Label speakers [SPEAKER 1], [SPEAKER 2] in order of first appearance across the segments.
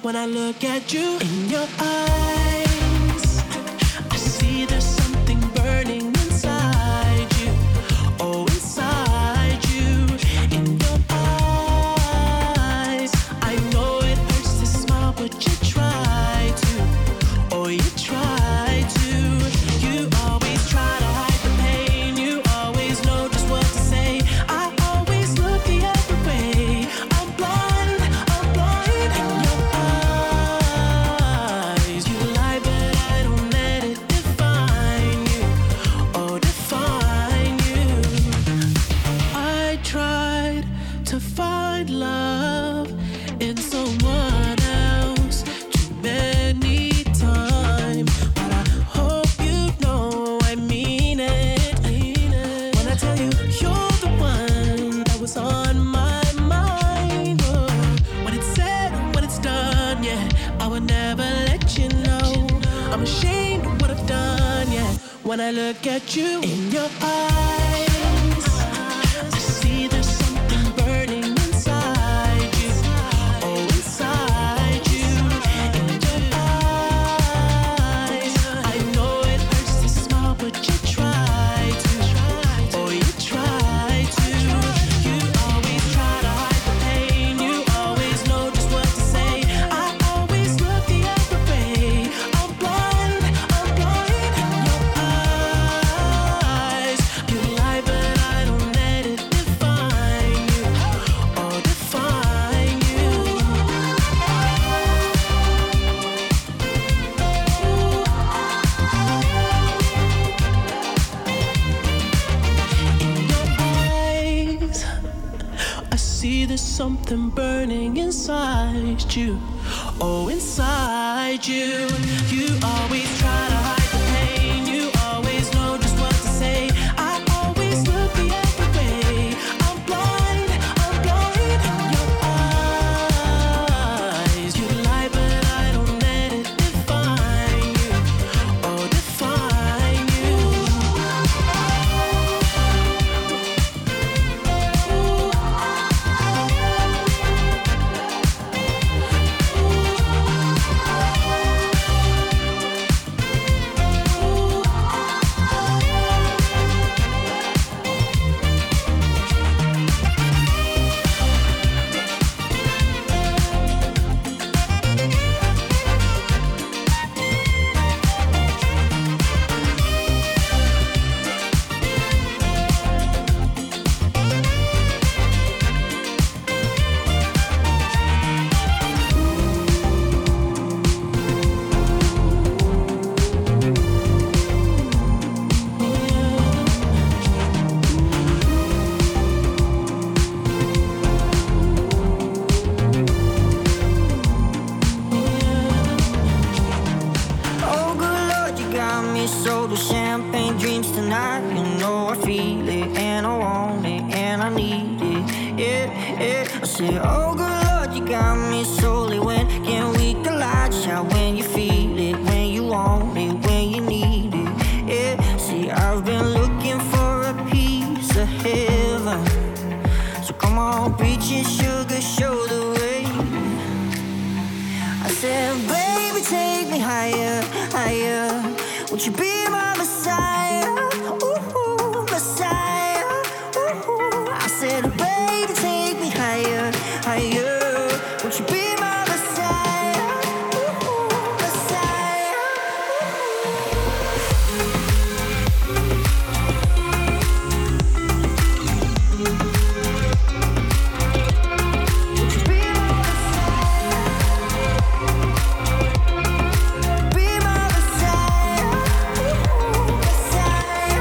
[SPEAKER 1] when I look at you. In your eyes, I see there's something burning inside you. Oh, inside you. In your eyes, I know it hurts to smile, but you try to. Oh, you try to. You always try to hide the pain. You always know just what to say. I always look the other way. I'm blind in your eyes. You lie, but I don't let it define you. Oh, define you. I tried to find love in someone else too many times, but I hope you know I mean it. When I tell you you're the one that was on my mind. Oh, when it's said, when it's done, yeah, I would never let you know. I'm ashamed of what I've done, yeah. When I look at you in your eyes, I see there's something burning inside you. Oh, inside you. In your eyes, I know it hurts to smile, but you try to. Oh, you try to. You always try to hide the pain. You always know just what to say. I always look the other way. I'm blind in your eyes. You lie, but I don't let it define you. Oh, define you. In your eyes, I see there's something burning inside you. Oh, inside you. You always try to hide the pain. You always know just what to say. I always look the other way. I'm blind in your eyes. You lie, but I don't let it define you. Oh, define you.
[SPEAKER 2] Oh, good Lord, you got me sold with champagne dreams tonight. You know I feel it, and I want it, and I need it. Yeah, yeah. I said, oh, good Lord, you got me solely. When can we collide? Shout when you feel it, when you want it, when you need it. Yeah, see, I've been looking for a piece of heaven. So come on, preach it, sugar, show the way. I said, baby, take me higher, higher. Won't you be my Messiah? Ooh, Messiah. Ooh. I said, baby, take me higher, higher. Won't you be my Messiah? Ooh, Messiah. Won't you be my Messiah? Be my Messiah. Ooh, Messiah.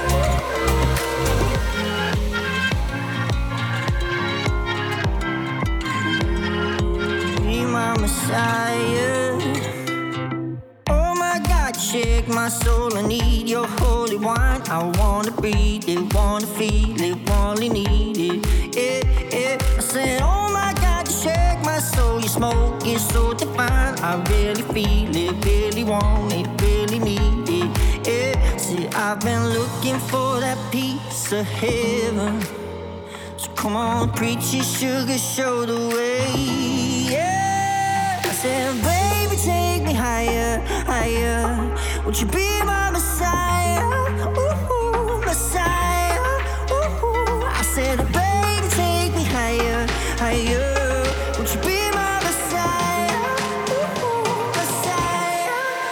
[SPEAKER 2] Be my Messiah. Oh my God, shake my soul. I need your holy wine. I wanna breathe it, wanna feel it, wanna need it. Yeah, yeah. I said, oh my God, you shake my soul. Your smoke is so divine. I really feel it, really want it, really need it. Yeah. See, I've been looking for that piece of heaven. So come on, preach it, sugar, show the way. Yeah. I said, baby, take me higher, higher. Would you be my Messiah? Ooh, Messiah. Ooh. I said, baby, take me higher, higher. Would you be my Messiah? Ooh, Messiah.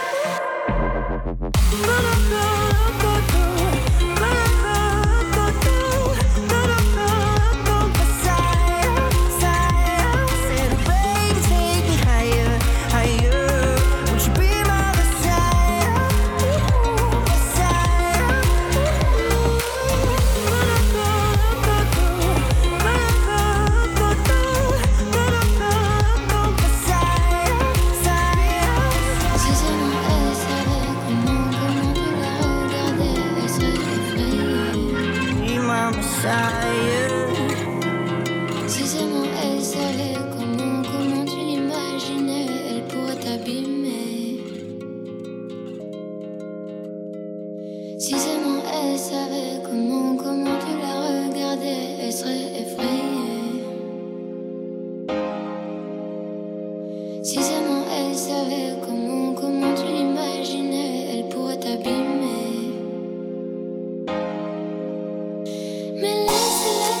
[SPEAKER 3] Si seulement elle savait comment tu l'imaginais, elle pourrait t'abîmer. Si seulement elle savait comment tu la regardais, elle serait effrayée. Si seulement elle savait comment tu l'imaginais, elle pourrait t'abîmer. Mais laisse-la.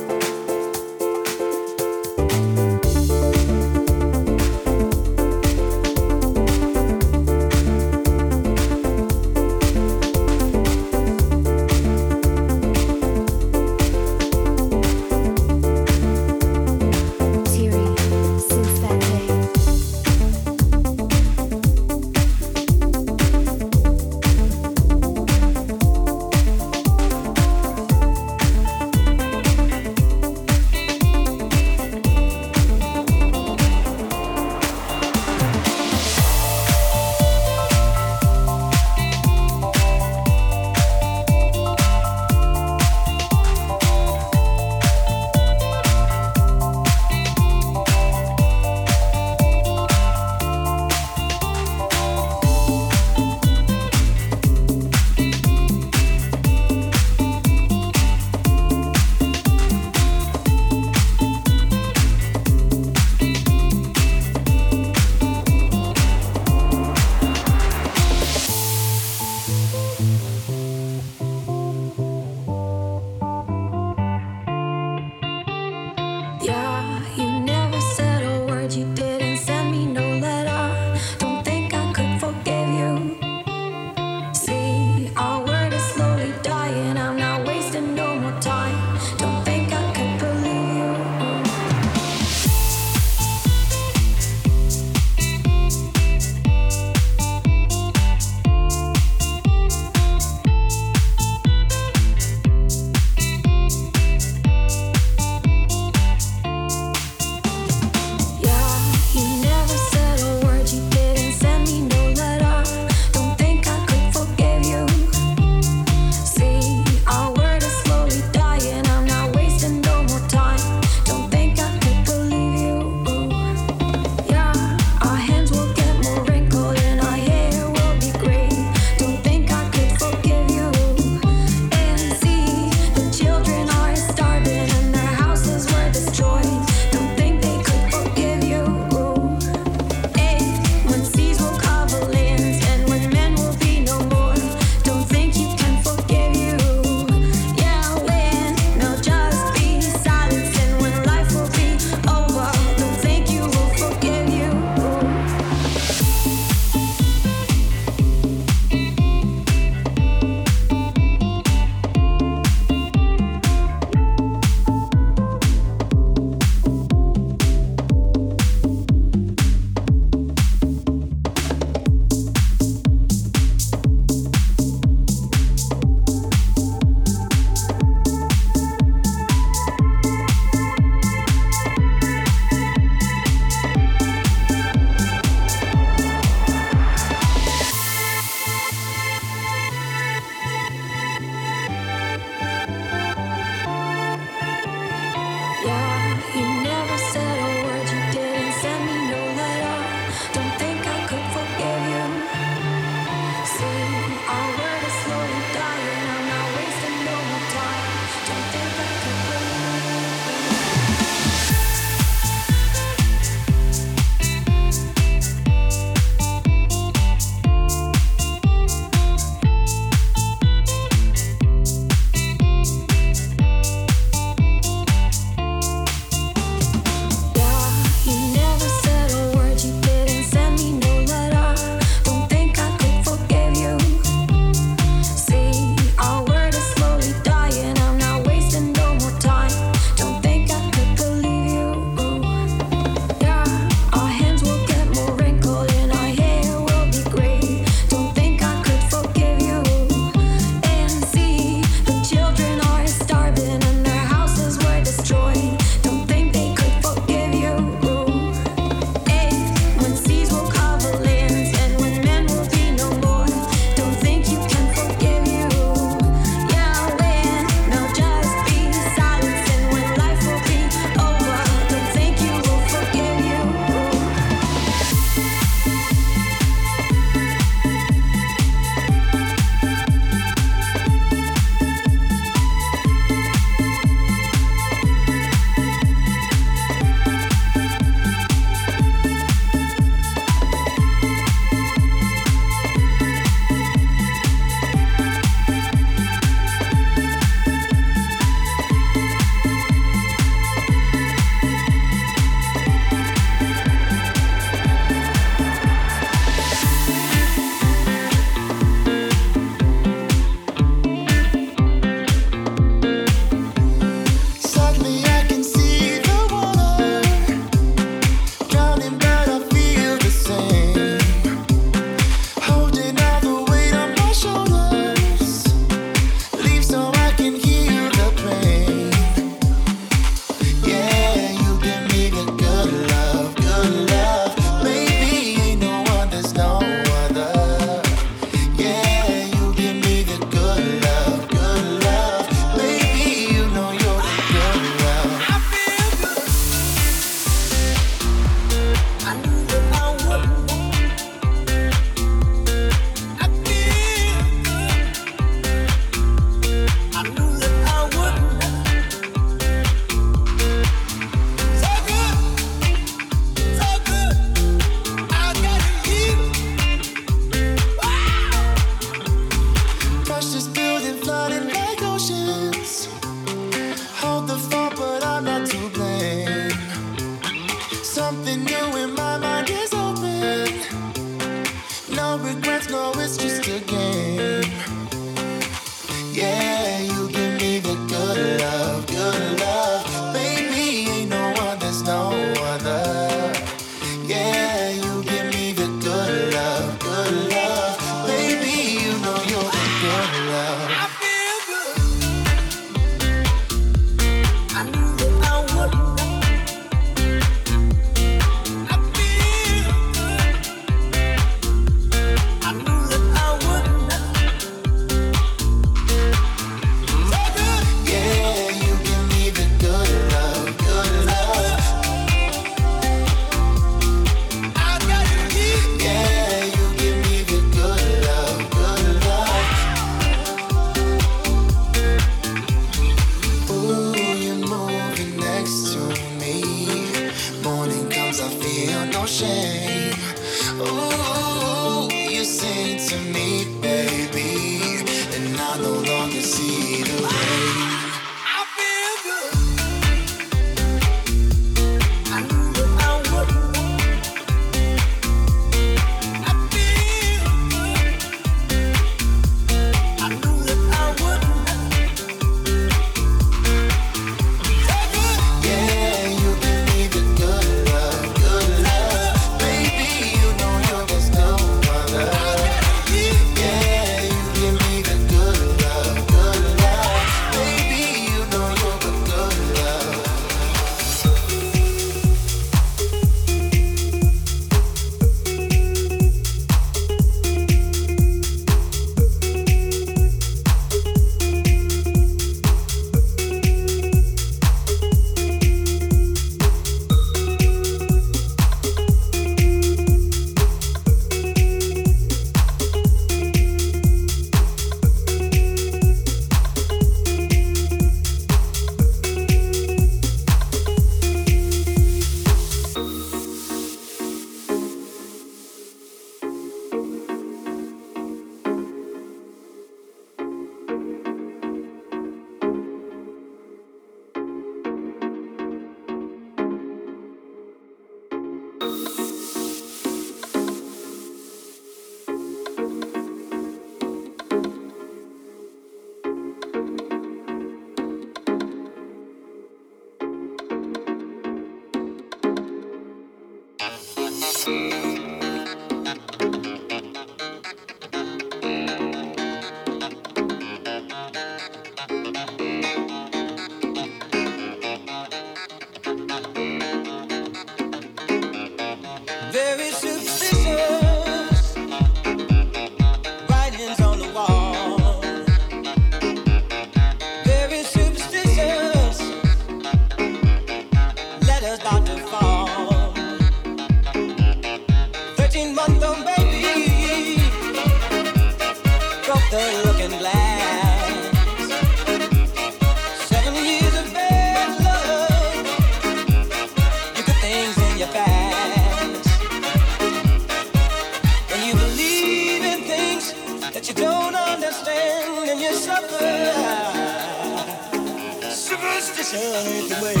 [SPEAKER 2] passion away.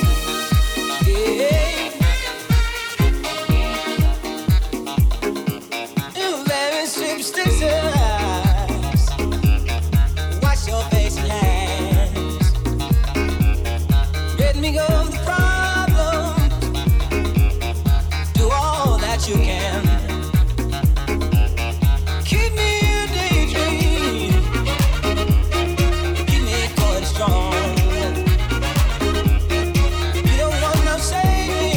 [SPEAKER 2] Yeah. You very superstitious. Wash your face and hands. Let me go of the problem. Do all that you can. Keep me a daydream. Keep me going strong. You don't want no saving.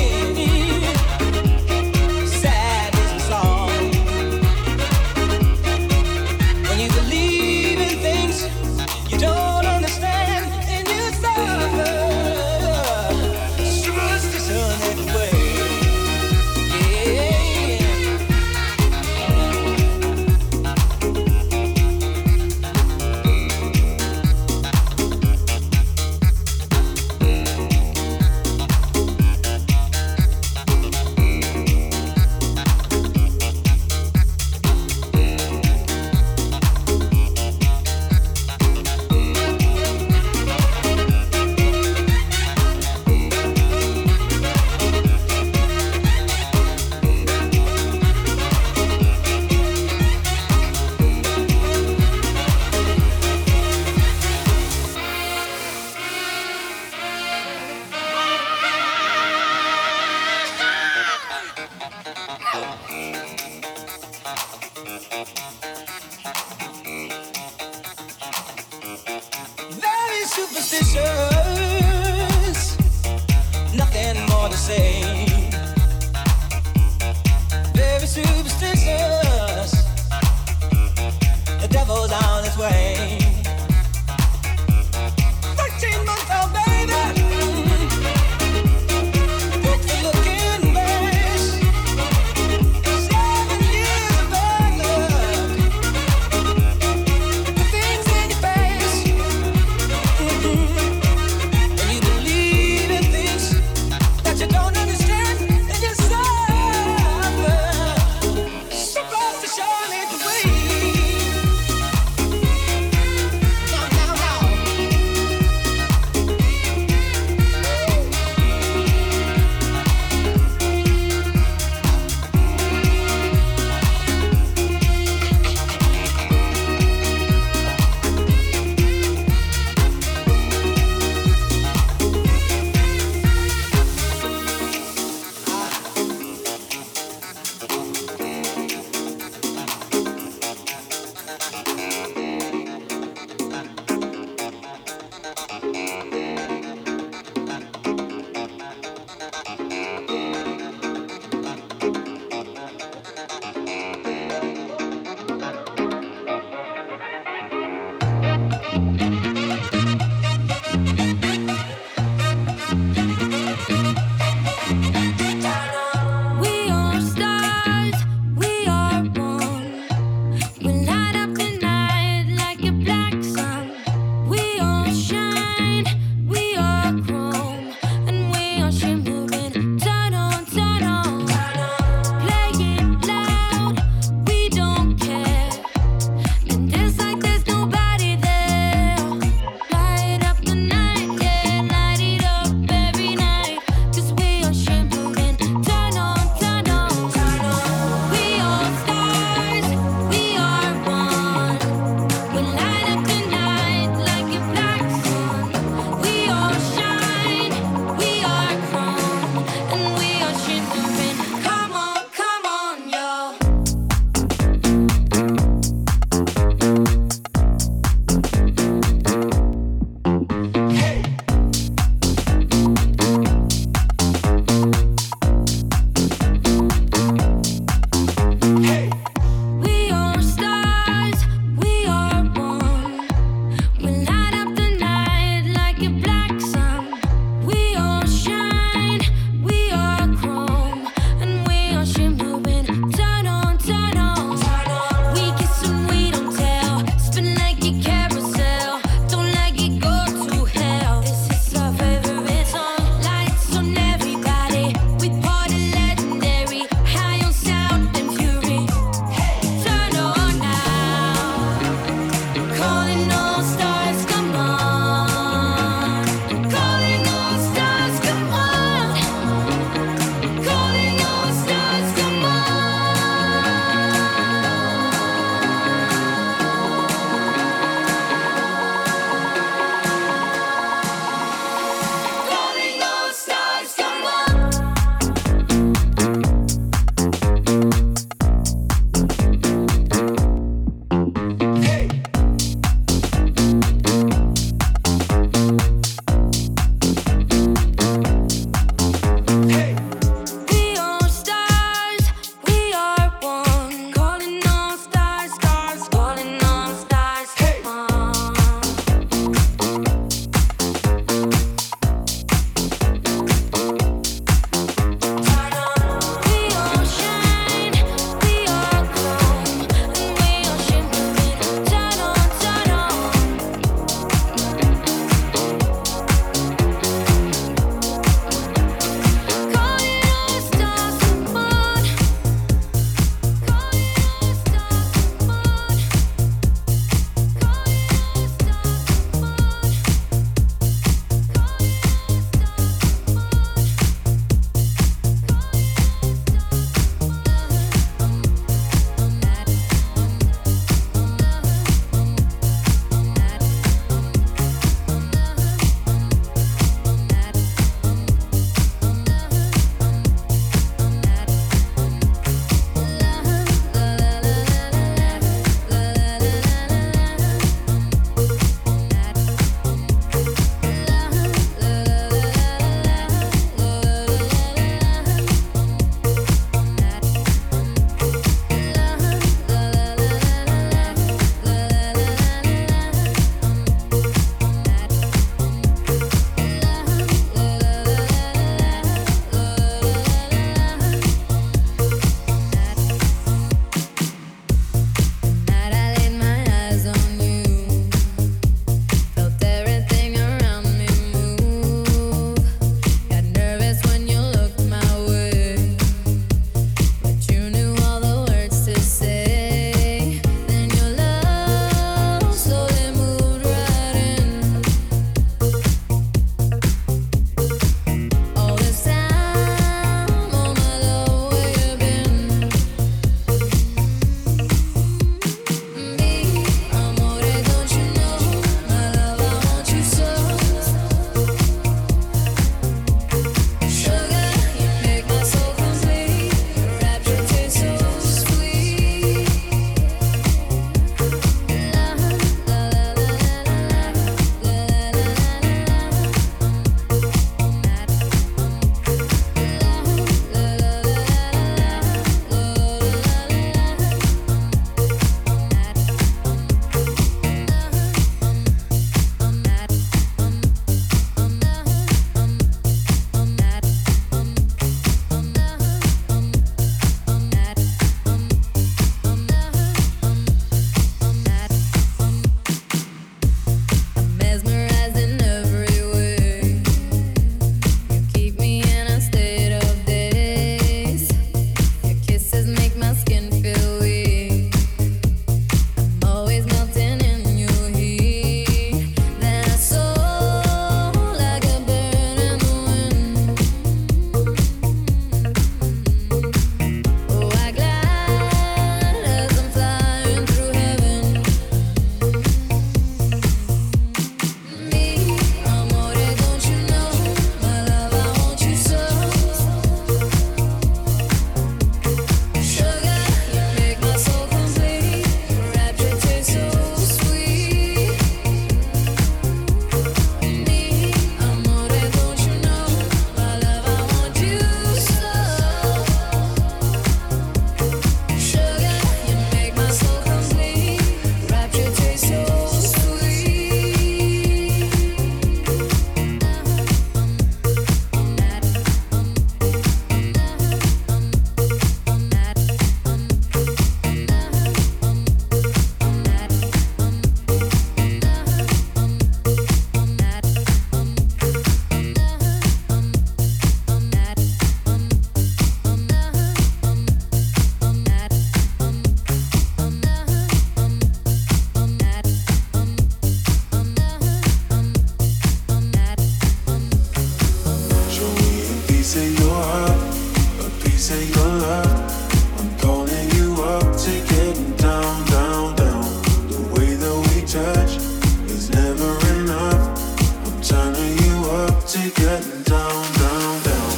[SPEAKER 4] getting down, down, down.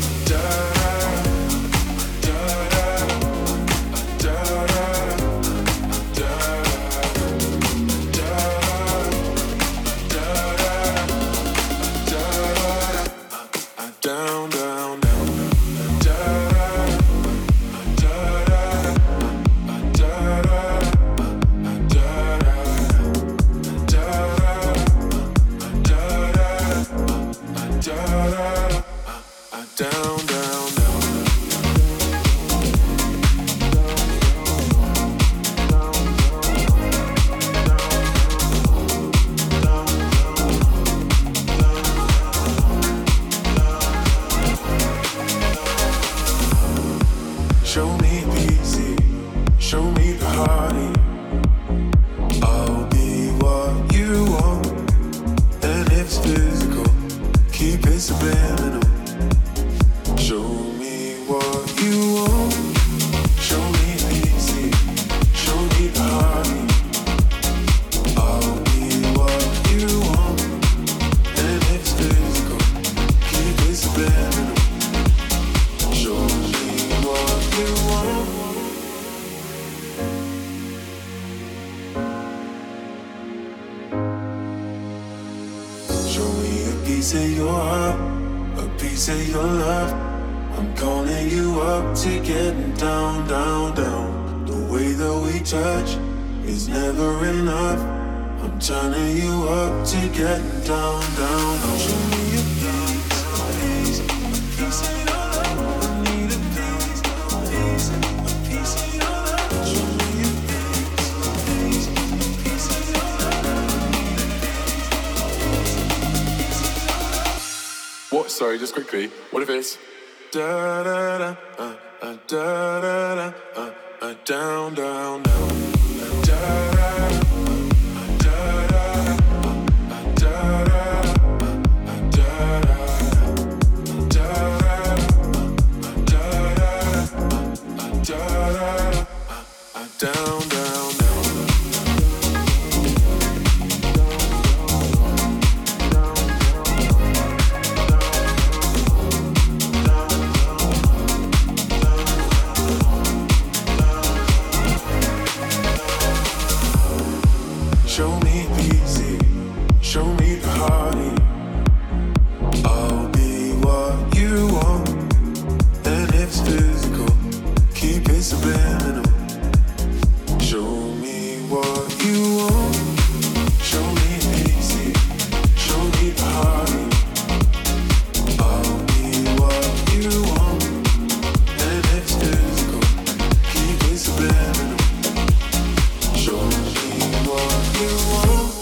[SPEAKER 4] Down, down, down. Down, down, down. Show me easy, show me the heartache. I'll be what you want, and if it's physical, keep it subliminal. Show me what you want, show me easy, show me the heartache. I'll be what you want, and if it's physical, keep it subliminal. Show me what you want. Show me a piece of your heart, a piece of your love. I'm calling you up to getting down, down, down. The way that we touch is never enough. I'm turning you up to getting down, down, down. Show me a piece of your love. I need a piece of your love. Show me a piece of your love. What? Sorry, just quickly. What if it's da da da da da da down, down, down. Da da da da da down, down, down. Show me easy, show me the heartache. I'll be what you want, and if it's physical, keep it subliminal. Show me what you want, show me easy, show me the heartache. I'll be what you want, and if it's physical, keep it subliminal. Show me what you want.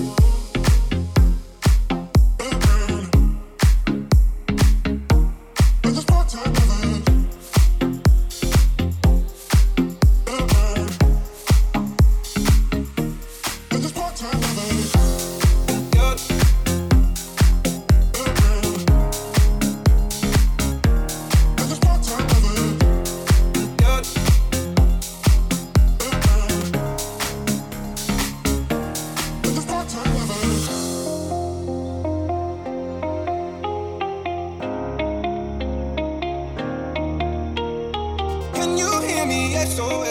[SPEAKER 5] Can you hear me? SOS.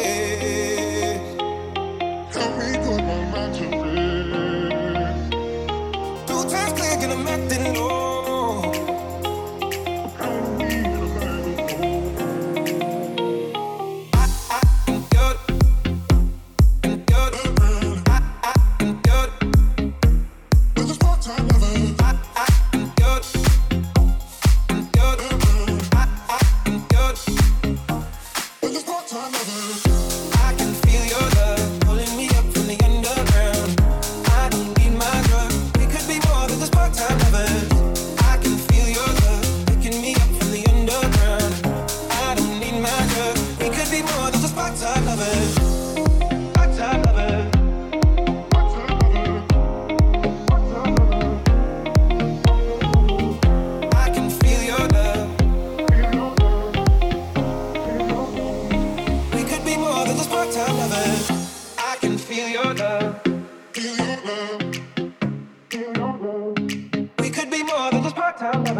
[SPEAKER 5] Help me put my mind to rest. 2 times click and I'm acting low. I need a man. I'm good. I'm good. I'm good. With this part-time lover. I'm good. I'm good. I'm good. With this part-time lover.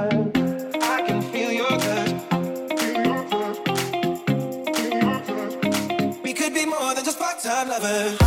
[SPEAKER 5] I can feel your touch. We could be more than just part-time lovers.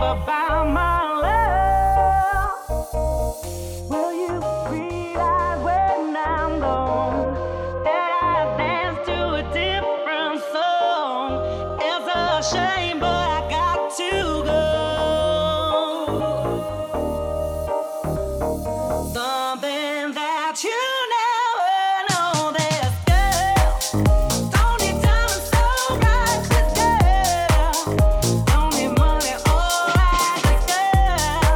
[SPEAKER 1] about my love. Will you realize when I'm gone that I dance to a different song? It's a shame, but I got to go. Something that you never know. This girl don't need time so right. This girl don't need money, alright. This girl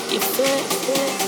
[SPEAKER 3] You feel it?